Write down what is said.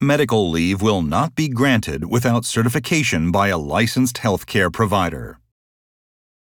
Medical leave will not be granted without certification by a licensed healthcare provider.